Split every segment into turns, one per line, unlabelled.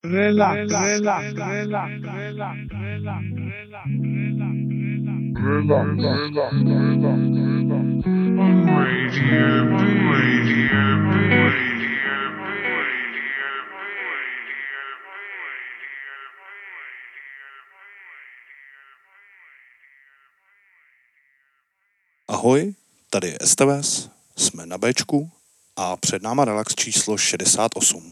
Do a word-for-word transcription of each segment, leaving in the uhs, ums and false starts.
Relax, relax, relax, relax, relax, relax, relax, relax, relax, relax. Radio B, Radio B, Radio B, Radio B, Radio
Ahoj, tady je S T V S, jsme na Bčku a před náma relax číslo šedesát osm.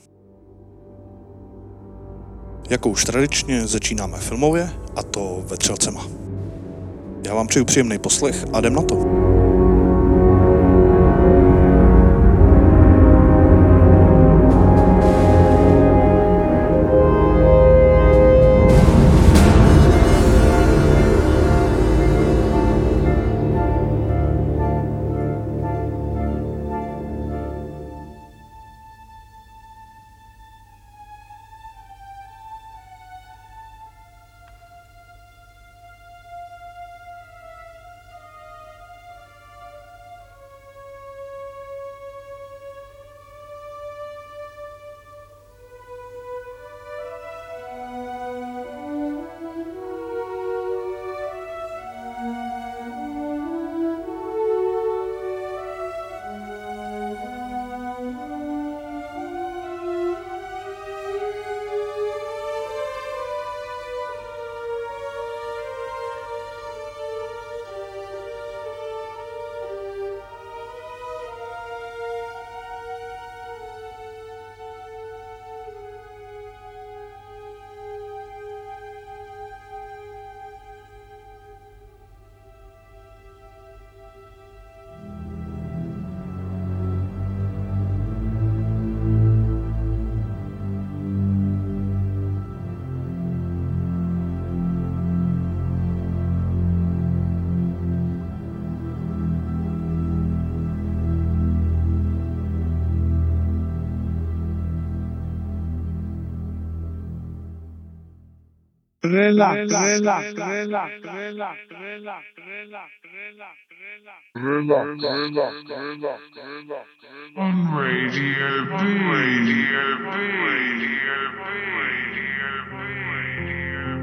Jako už tradičně začínáme filmově, a to Vetřelcema. Já vám přeju příjemný poslech a jdem na to. Relax, relax, relax, relax, relax, relax, relax, relax, relax, relax, relax, relax. On Radio B, Radio B, Radio B, Radio B, Radio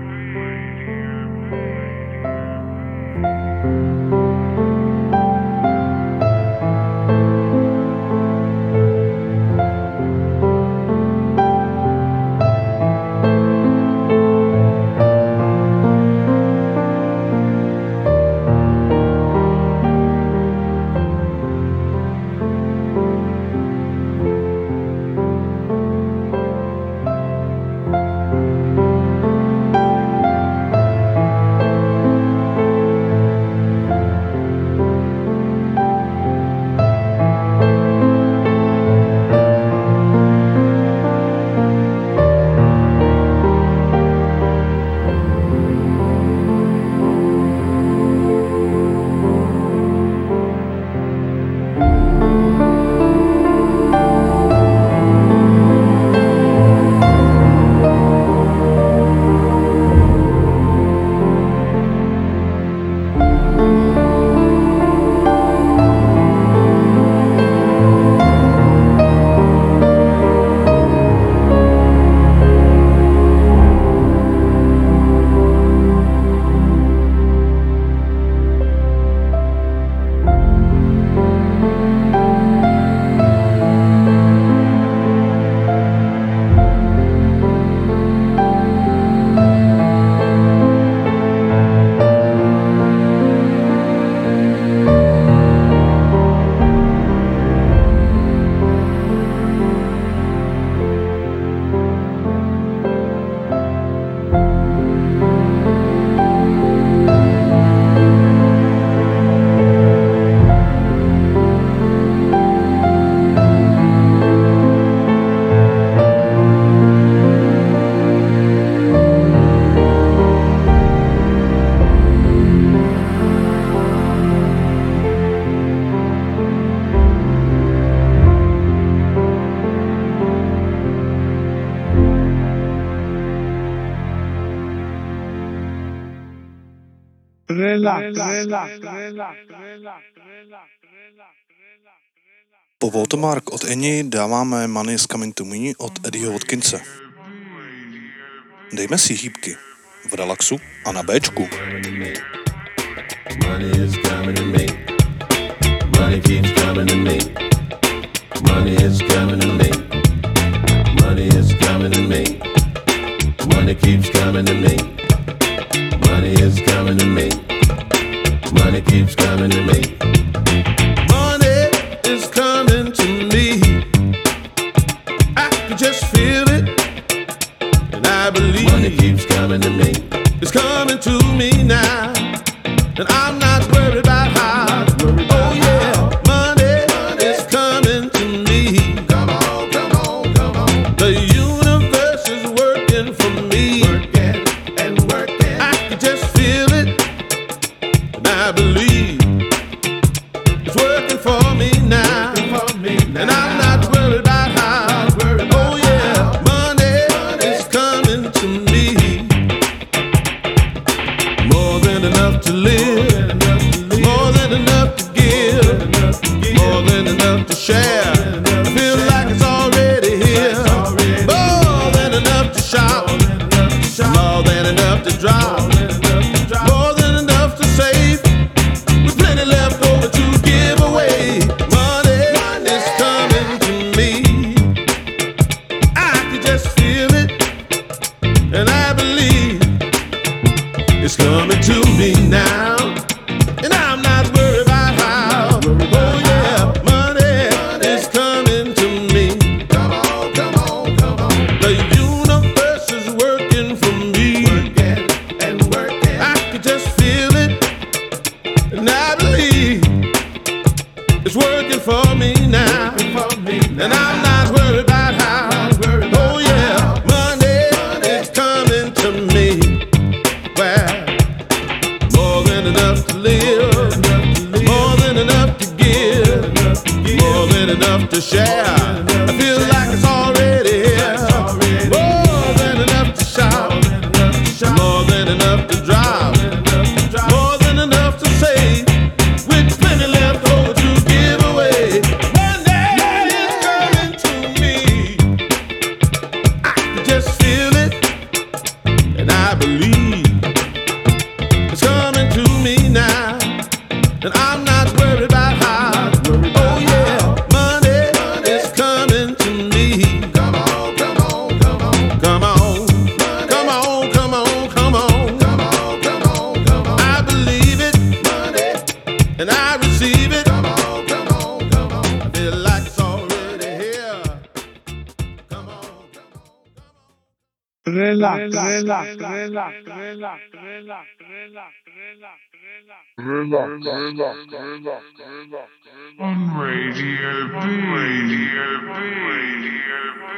Po Watermark od Eni dáváme Money is Coming to Me od Eddieho Watkinse. Dejme si hýbky v relaxu a na Bčku.
Money is coming to me. Money keeps coming to me. Money is coming to me. Money is coming to me. Money keeps coming to me. Money is coming to me. Money keeps coming to me. Money is coming to me. I can just feel it, and I believe money keeps coming to me. It's coming to me now, and I'm not worried about how. Oh yeah, money is coming to me. Come on, come on, come on. The universe is working for me, working and working. I can just feel it, and I believe it's working for me now, and I'm not worried about how. Oh yeah, money is coming to me. More than enough to live, more than enough to give, more than enough to share. I feel like it's already here. More than enough to shout, more than enough to drop, more than enough to save, with plenty left over to give away. Money is coming to me. I can just feel it, and I believe it's coming to me now, and I'm not worried about how. Oh yeah, money is coming to me. Come on, come on, come on. The universe is working for me, working and working. I can just feel it, and I believe it's working for me now, and I'm not worried about how. Oh yeah, money is coming to me. Well, more than enough to live, more than enough to give, more than enough to share. I feel like it's already here. More than enough to shout, more than enough to drop, more than enough to save, with plenty left over to give away. Money is coming to me. I can just feel it, and I believe it's coming to me now, and I'm not worried about how. Oh yeah, money is coming to me. Come on, come on, come on, come on, come on, come on, come on, come on, come on, come on. I believe it, and I receive it. Come on, come on, come on. I feel like it's already here. Come on, come on.
Relax, relax, relax, relax, relax, relax, relax, on Radio B. Radio B. Radio B.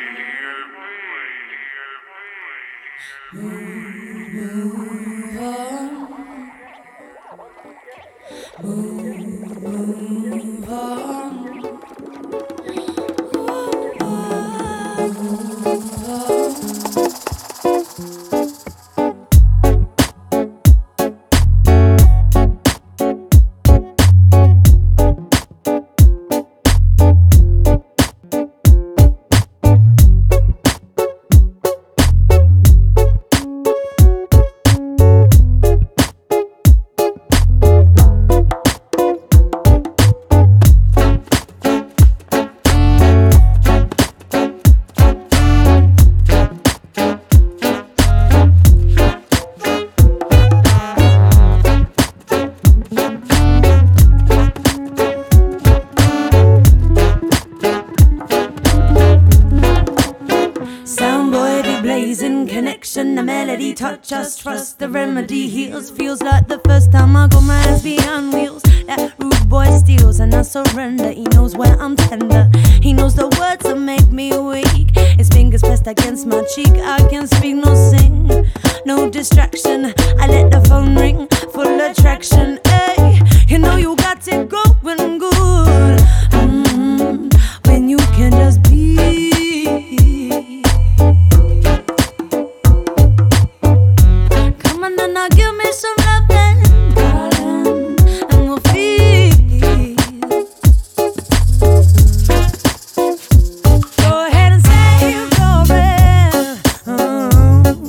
Touch us, trust the remedy heals. Feels like the first time I got my hands behind wheels. That rude boy steals and I surrender. He knows where I'm tender. He knows the words that make me weak. His fingers pressed against my cheek. I can speak, no sing, no distraction. I let the phone ring, full attraction. Hey, you know you got it going good. Mm-hmm. When you can just be. Now give me some loving, darling, and we'll feel. Go ahead and say your breath. Oh.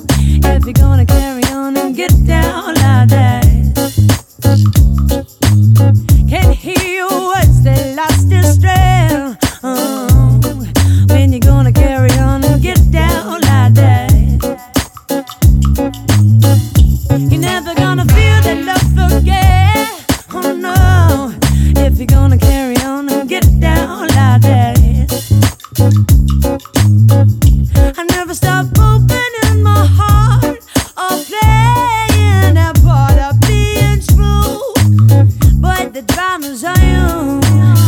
of opening my heart or playing that part of being true. But the drama's on you.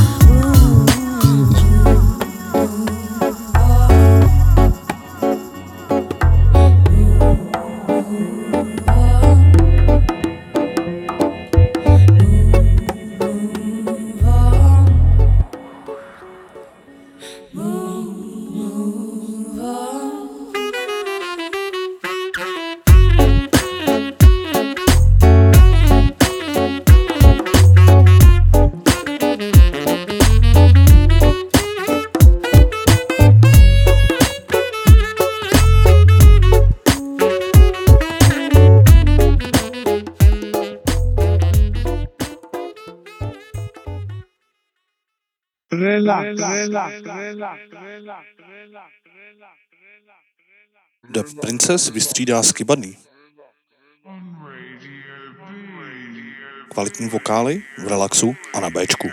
The Princess vystřídá Skibadný. Kvalitní vokály v relaxu a na Bčku.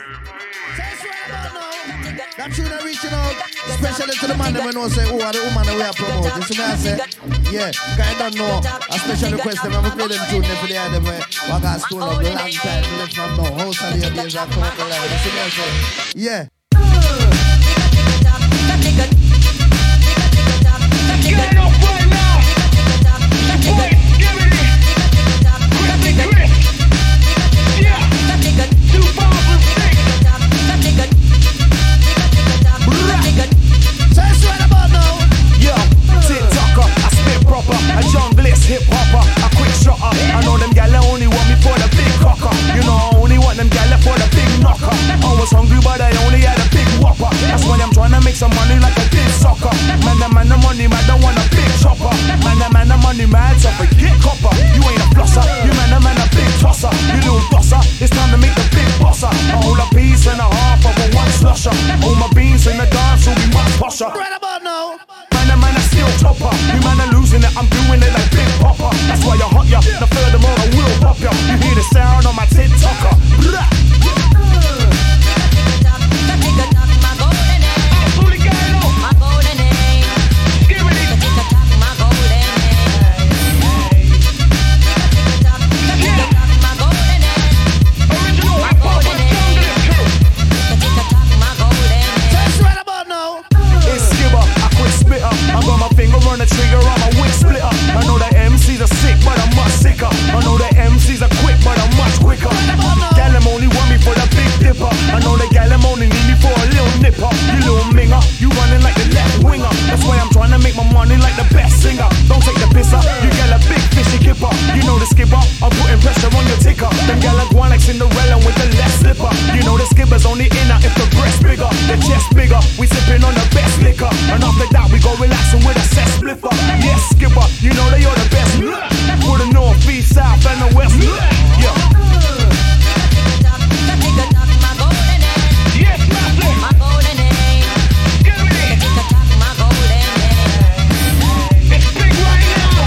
That tune are reaching out, especially to the man that we know say, oh, are the woman that we are promoting. So I say, yeah, because I don't know, a special request them, I'm going to play them tune there for the other way. I got stone up the long time, so let's not know. House of the days are come up the line. So I say, yeah.
Get up right now! Wait, give me this! Quickly, quick! Yeah! two thousand six!
So it's right about now.
Yo, TikToker, I spit proper, a junglist hip hopper, a quick shotter. I know them gal only want me for the big cocker. You know I only want them gal for the big knocker. I was hungry but I only had a big whopper. That's why I'm trying to make some money like a big soccer. Man, the man, the money, man, don't want a big chopper. Man, the man, the money, man, so forget copper. You ain't a flosser, you man, the man, a big tosser. You little bosser, it's time to make the big bosser. A whole a piece and a half of a one slusher. All my beans in the dance will be much posher.
Right about now.
Man, the man, a still topper. You man, are losing it, I'm doing it like Big Popper. That's why you hot ya, now furthermore I will pop ya. You hear the sound on my TikToker. Blah. I got my finger on the trigger, I'm a wick splitter. I know that M Cs are sick, but I'm much sicker. I know that M Cs are quick, but I'm much quicker. Gal them only want me for the big dipper. I know that gal them only need me for a little nipper. You little minger, you running like the left winger. That's why I'm trying to make my money like the best singer. Don't take the piss up, you gal a big fishy kipper. You know the skipper, I'm putting pressure on your ticker. Them gal are going like Cinderella with the left slipper. You know the skipper's only in her if the breast bigger, the chest bigger. We sipping on the best liquor, and after that we go relaxing with a set spliffer. Yes, skipper, you know that you're the best. For the north, east, south, and the west. Yeah.
Yes, master! Give me this! It's big right now!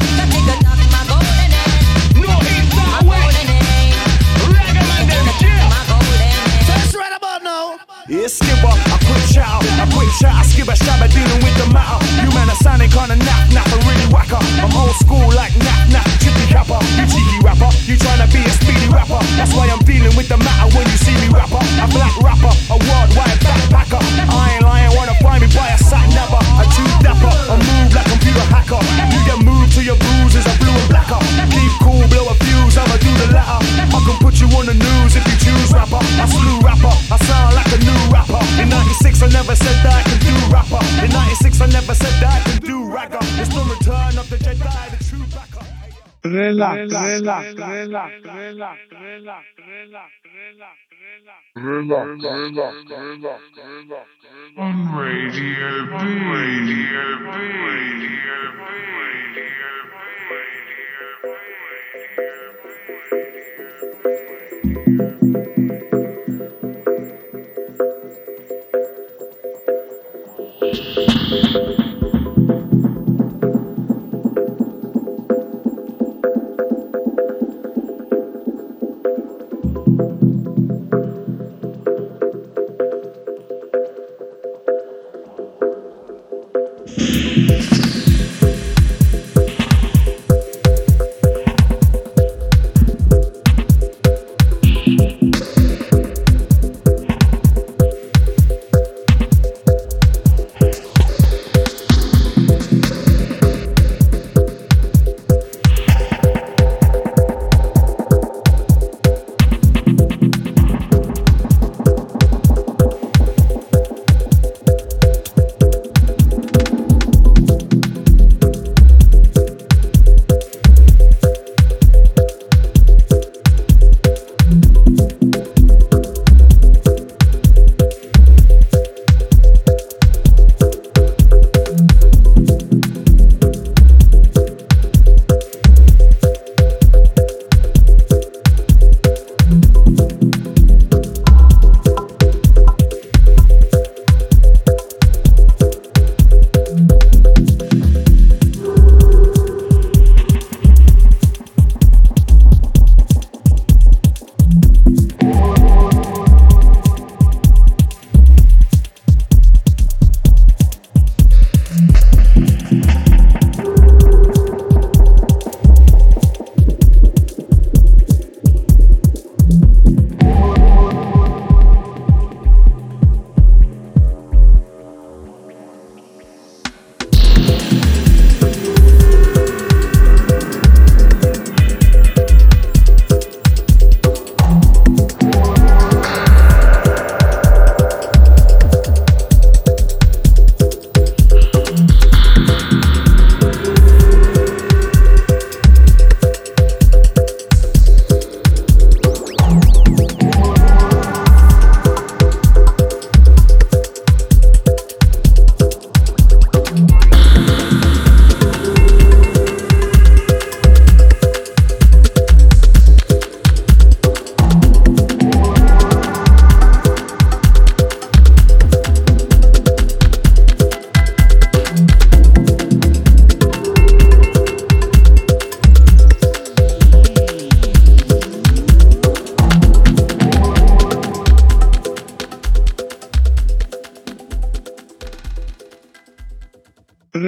No east, south, west! Reggae man, them chill!
So it's right about now.
Yeah, skipper, a quick shout, a quick shout, skipper, shabba dealing with the matter. You man are sounding kinda nap, nap, a really whacker. I'm old school like nap, nap, chippy capper. You cheeky rapper, you tryna be a speedy rapper. That's why I'm dealing with the matter when you see me rapper. A black rapper, a worldwide backpacker. I ain't lying, wanna find me by a sat never. A too dapper, a move like computer hacker. You get moved to your bruises, a blue and blacker. Keep cool, blow a fuse, I'ma do the latter. I can put you on the news if you choose rapper. I slew rapper, I sound like a new rapper. In ninety-six I never said that I could do rapper. In ninety-six I never said that I could do ragger. It's the return of the Jedi, the true backer.
Relax, relax, relax, relax, relax, relax, on Radio B, Radio B, Radio B, Radio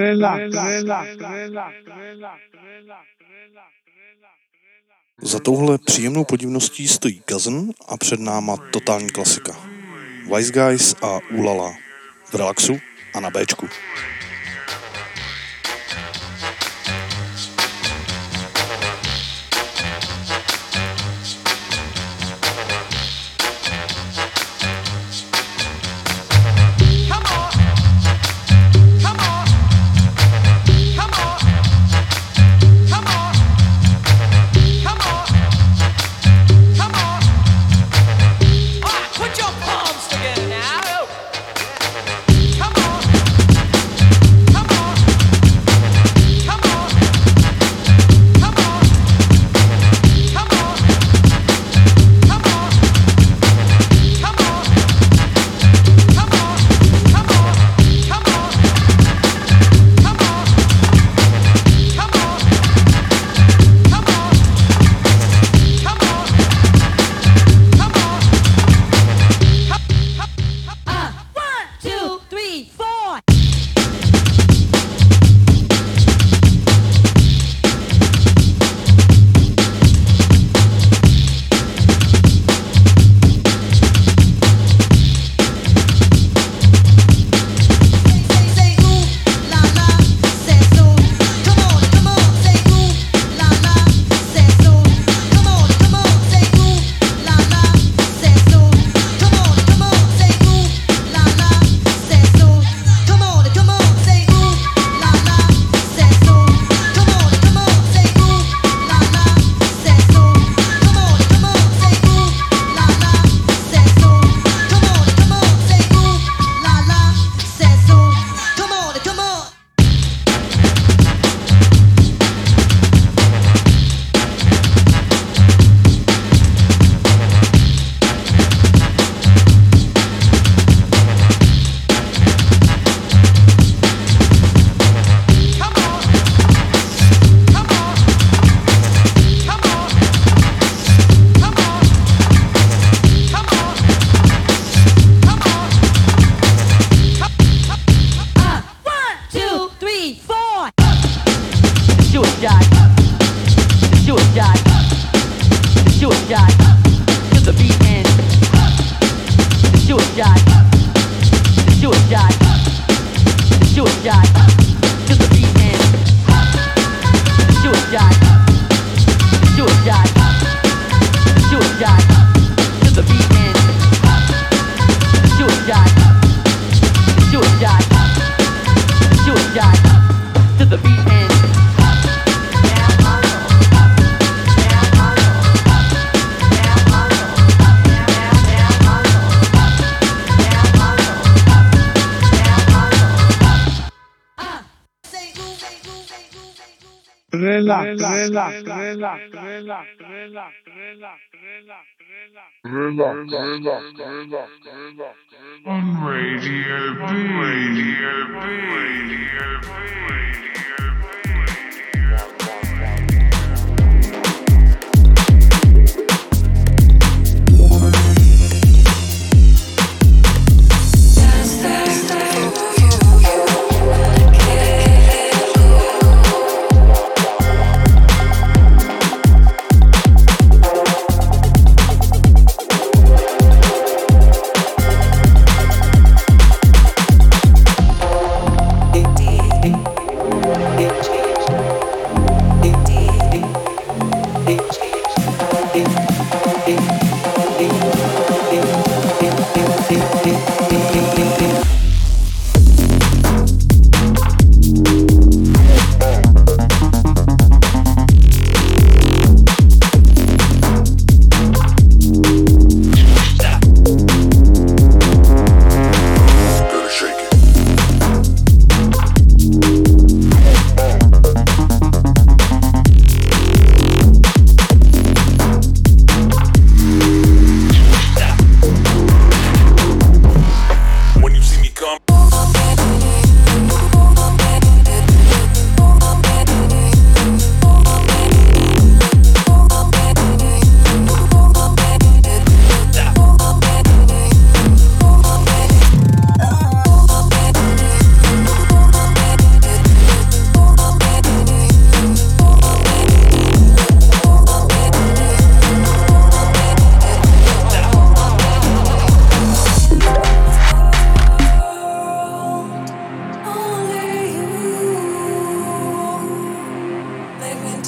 Za touhle příjemnou podivností stojí Cousin a před náma totální klasika. Wise Guys a Ulala. V relaxu a na Bčku.
On Radio B. Radio B. Radio B.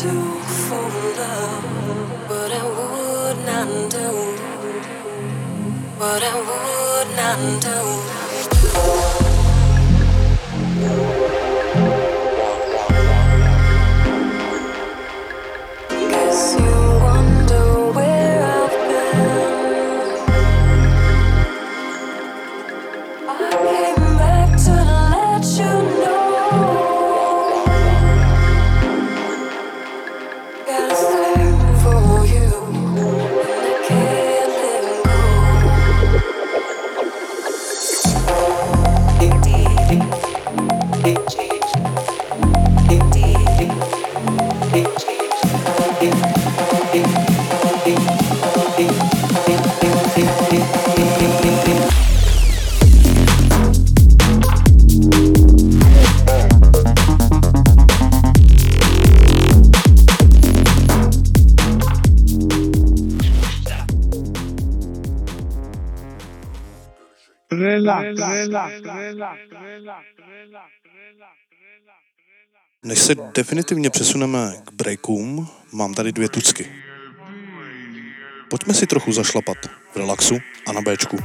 Než se definitivně přesuneme k breakům, mám tady dvě tucky. Pojďme si trochu zašlapat v relaxu a na Bčku.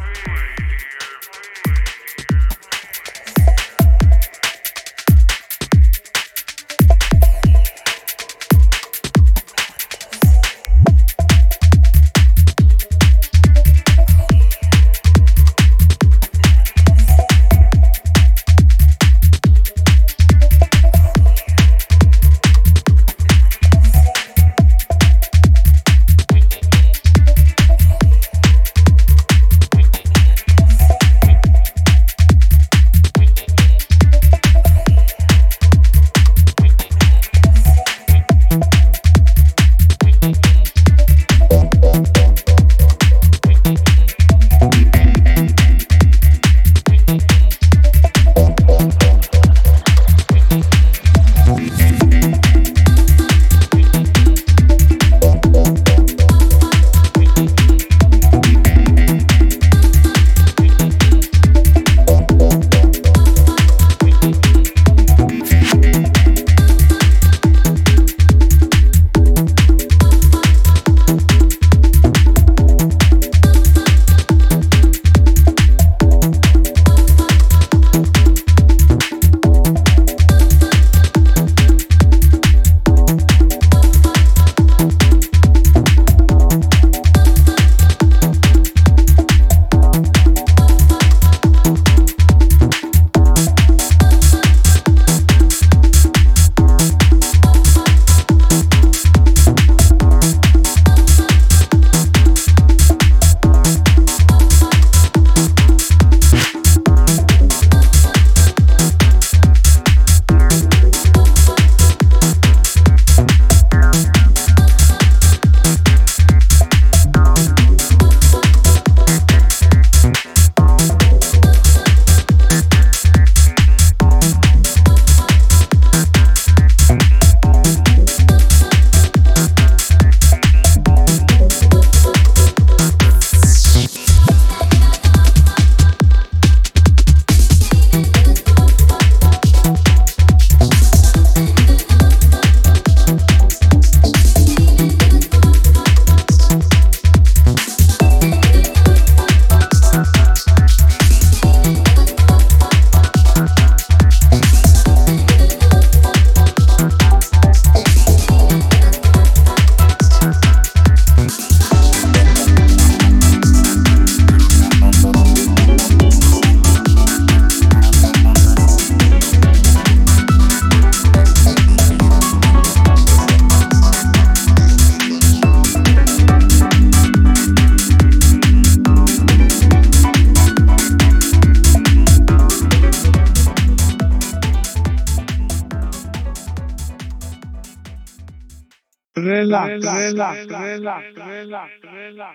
relax, relax, relax, relax, relax, relax,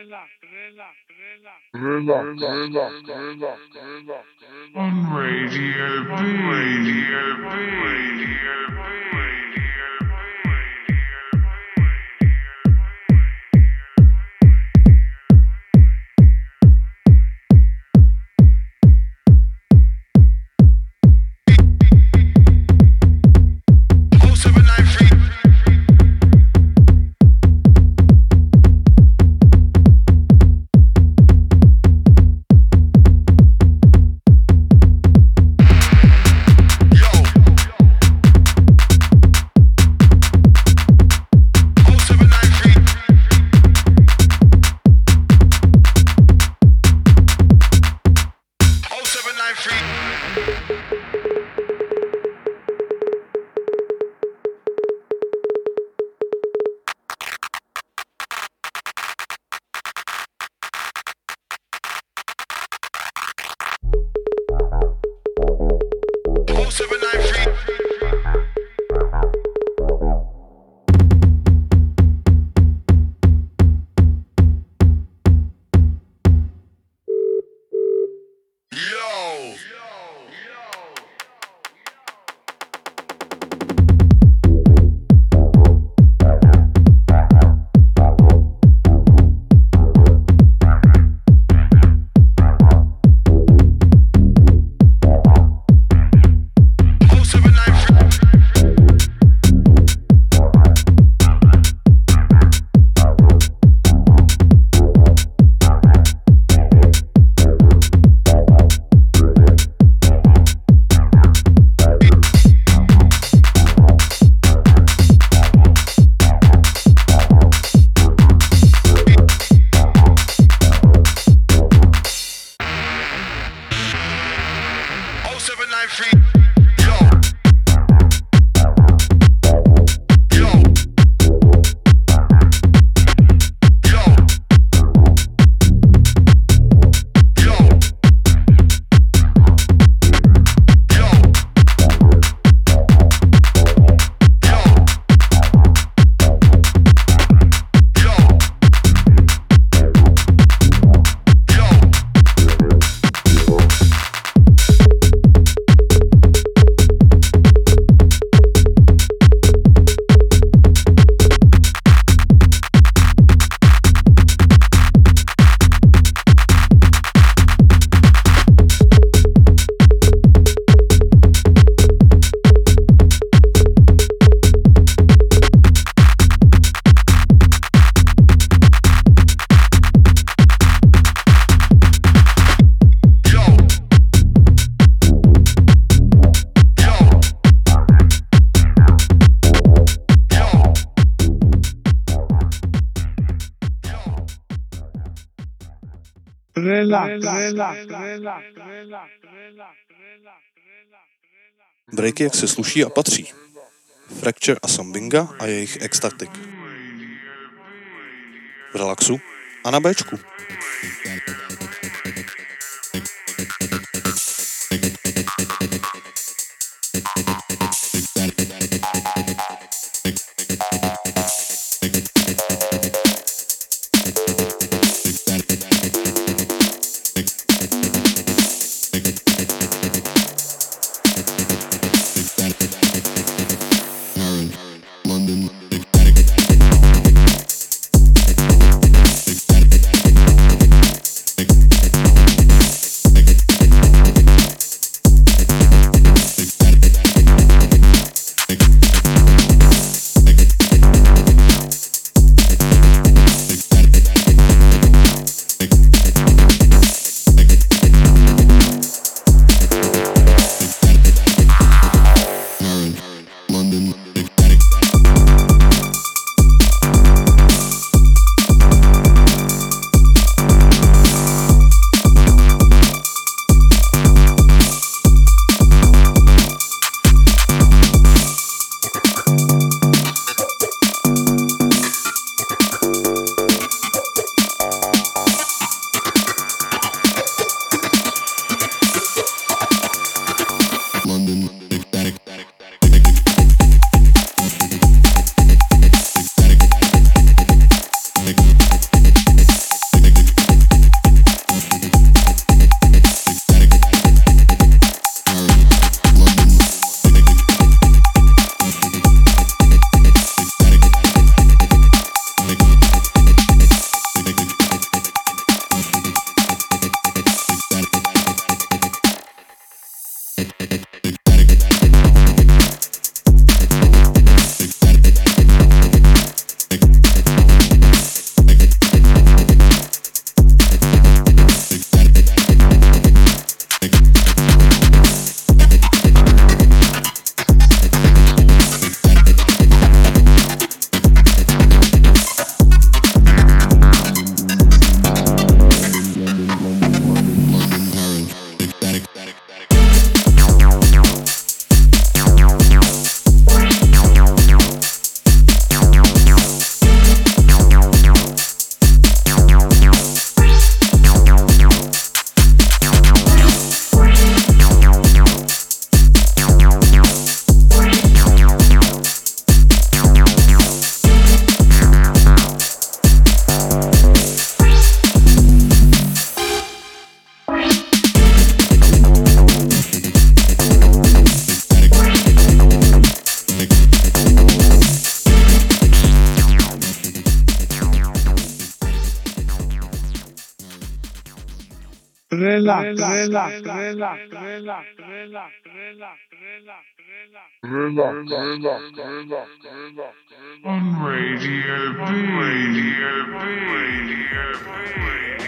on Radio B, Radio B, Radio B.
oh seven nine three
Relax, relax, relax, relax.
Breaky, jak se sluší a patří. Fracture a Sambinga a jejich Ecstatic. V relaxu a na Bčku.
Relax, relax, relax, relax, relax, relax, relax,
On Radio B. Radio B. Radio B.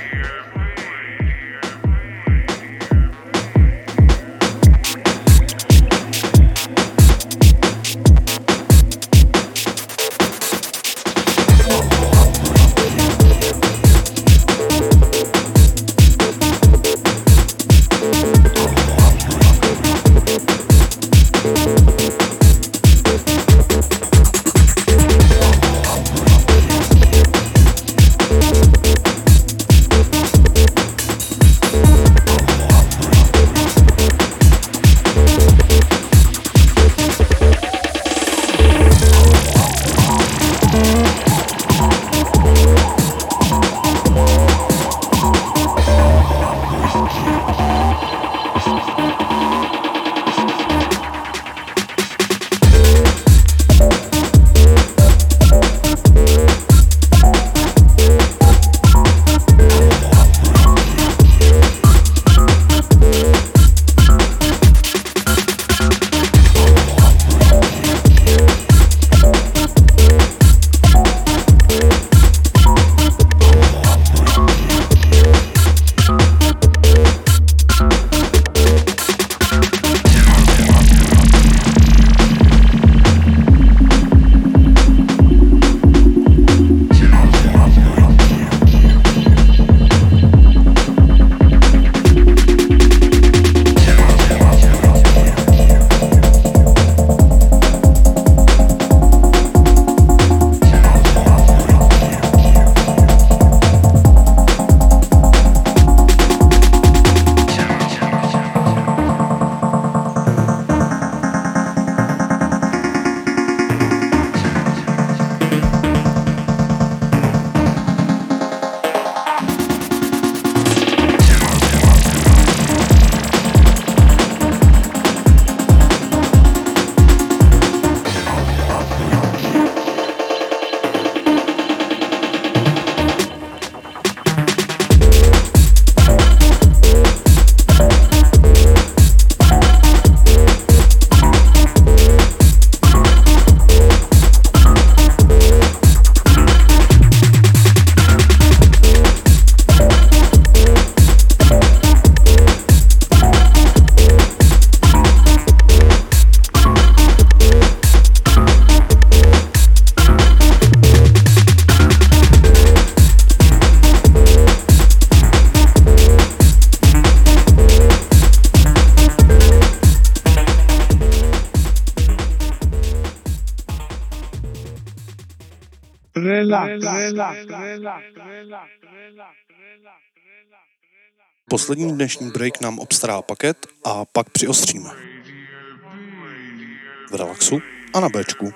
Relax, relax, relax, relax,
Poslední dnešní break nám obstará paket a pak přiostříme. V relaxu a na Bčku.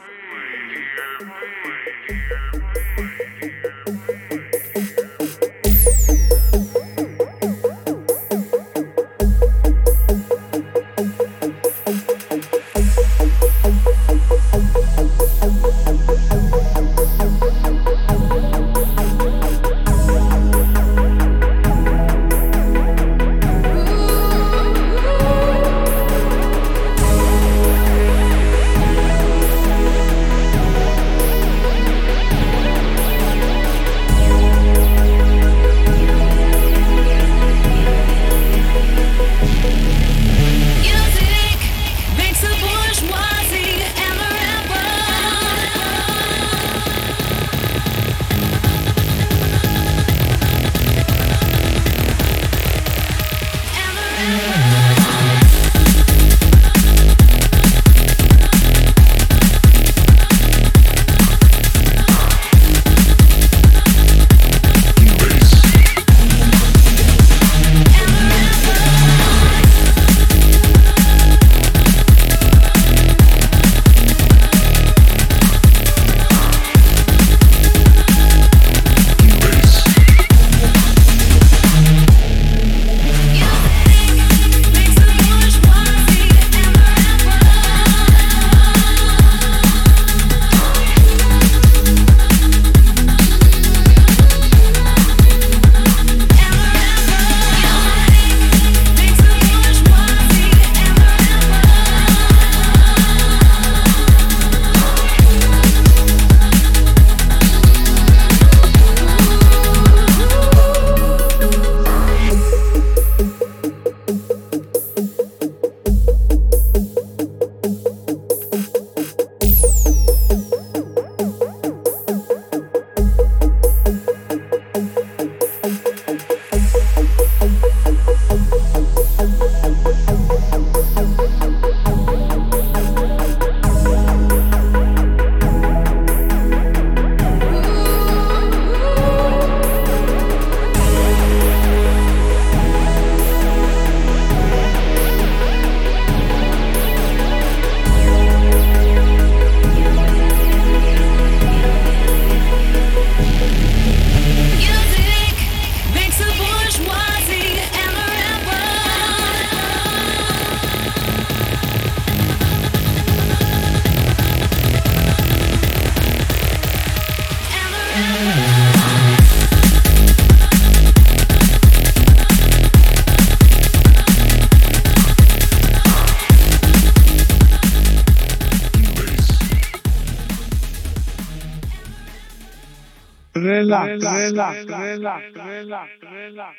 relax, relax, relax, relax, relax, relax,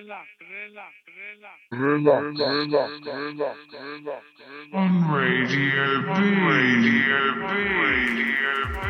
relax,
on Radio B. Radio B. Radio B.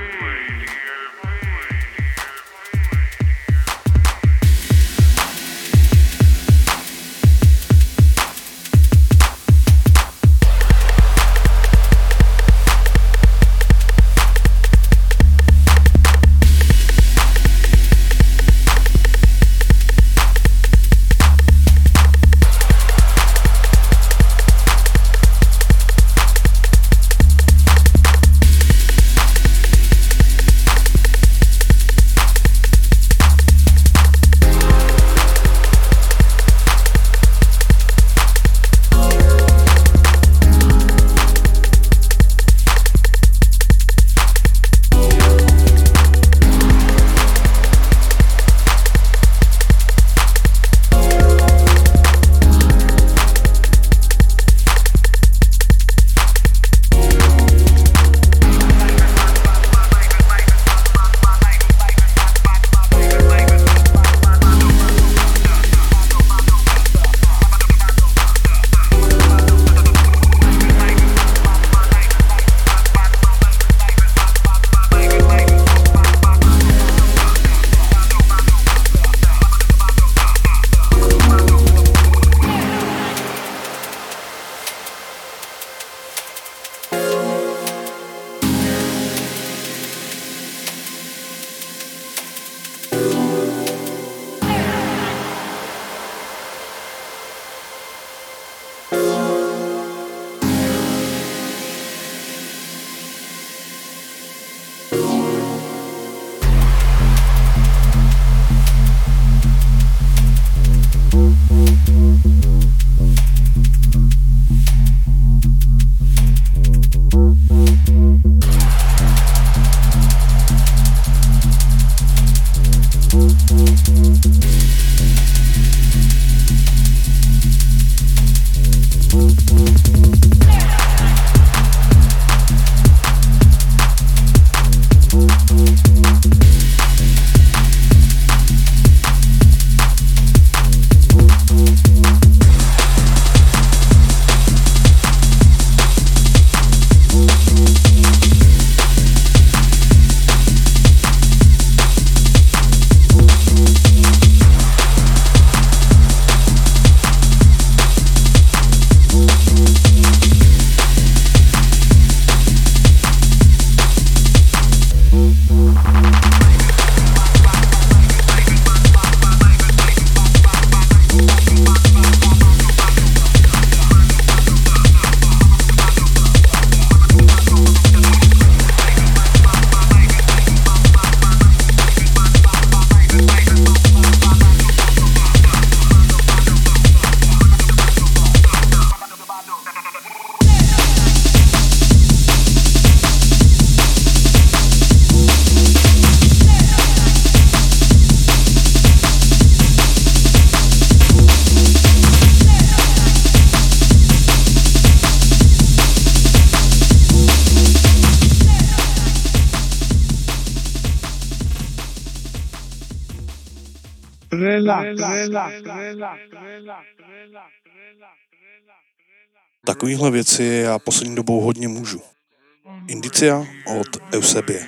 Takovýhle věci já poslední dobou hodně můžu. Indicia od Eusebie.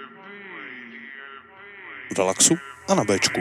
V relaxu a na Bčku.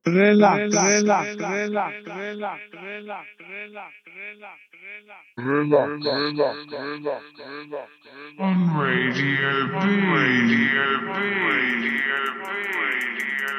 Relax, relax, relax, relax, relax, relax, relax, relax. On Radio B. Radio B. Radio B. Radio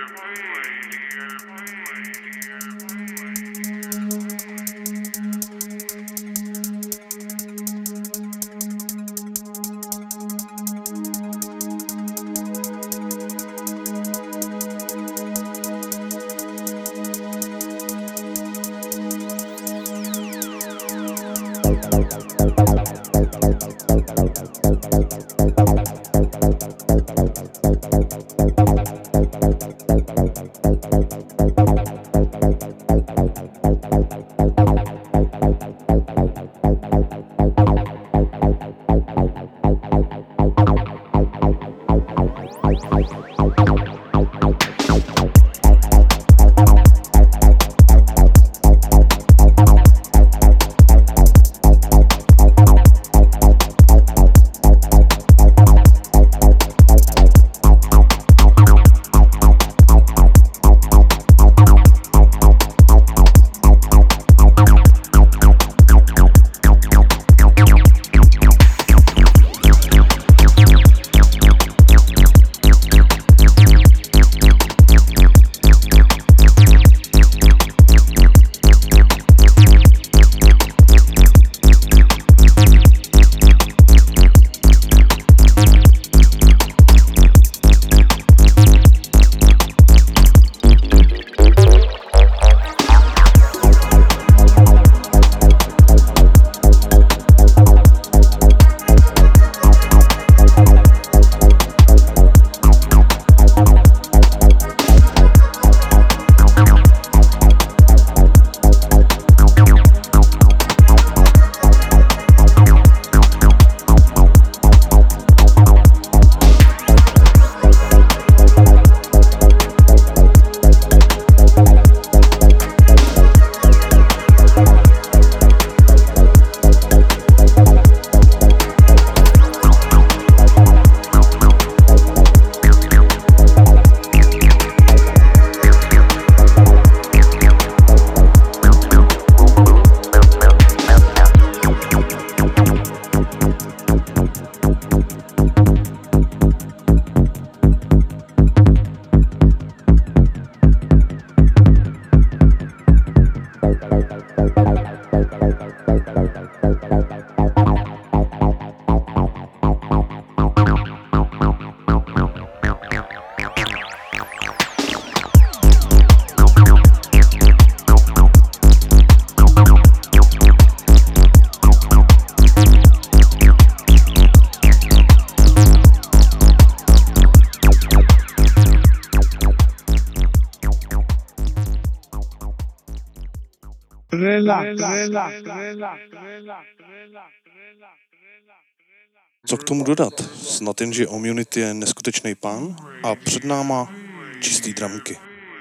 Co k tomu dodat? Snad jen, že Omunity je neskutečný pán a před náma čistý dramky.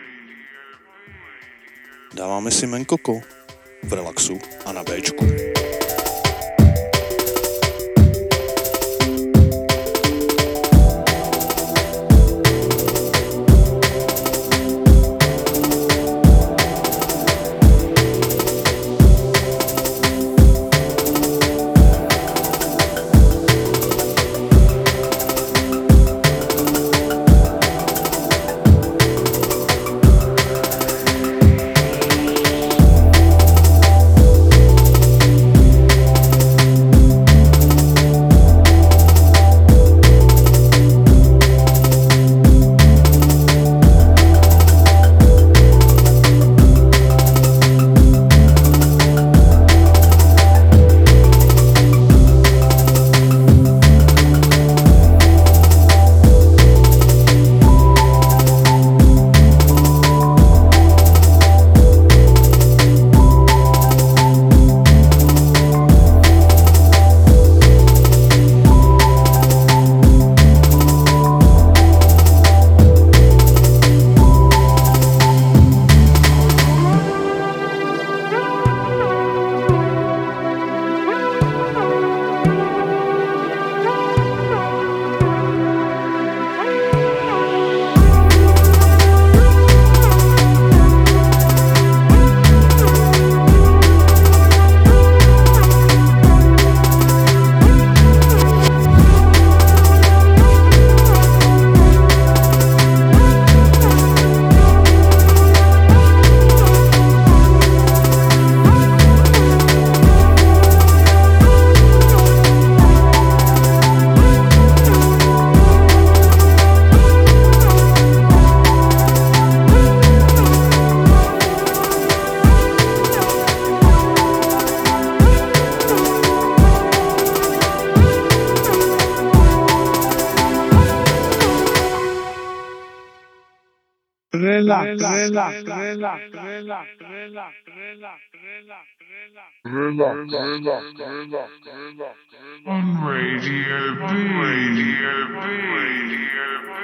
Dáváme si Menkoko v relaxu a na Bčku.
Relax,
relax, relax, relax, relax, relax, relax, on Radio B. Radio B. Radio B.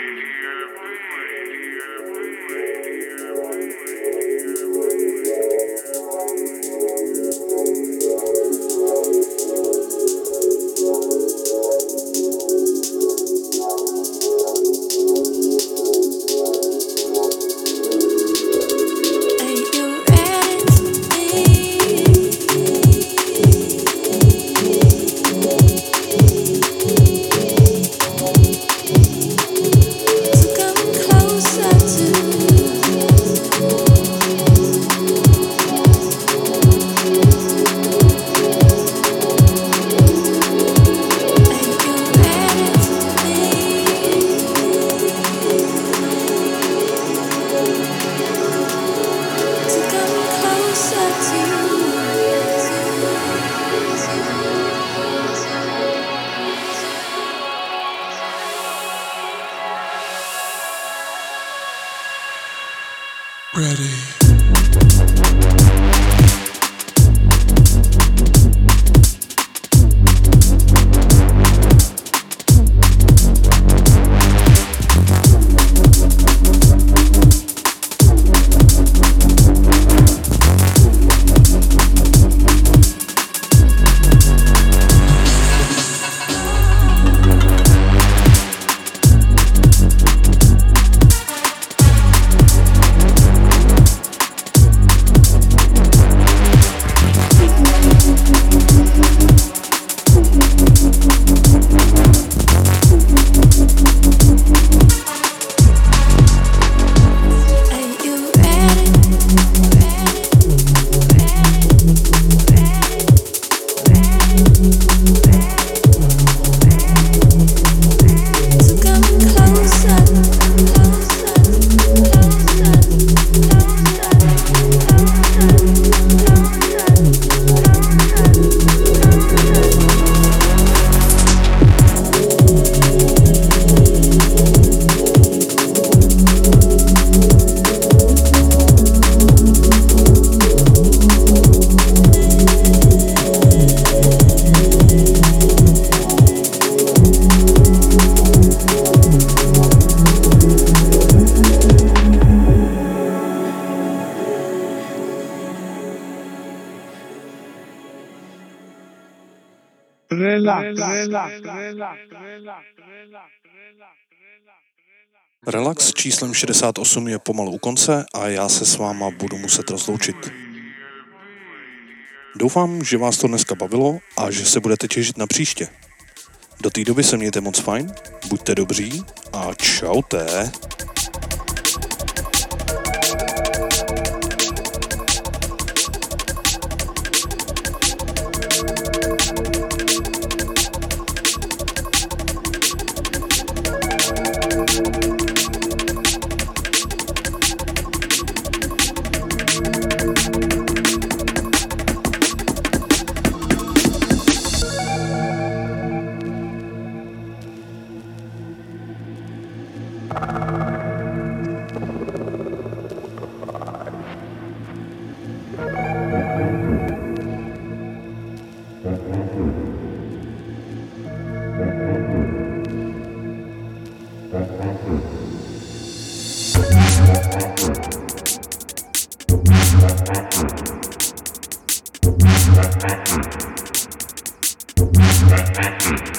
Relax číslem šedesát osm je pomalu u konce a já se s váma budu muset rozloučit. Doufám, že vás to dneska bavilo a že se budete těšit na příště. Do té doby se mějte moc fajn, buďte dobří a čaute.
Thank you.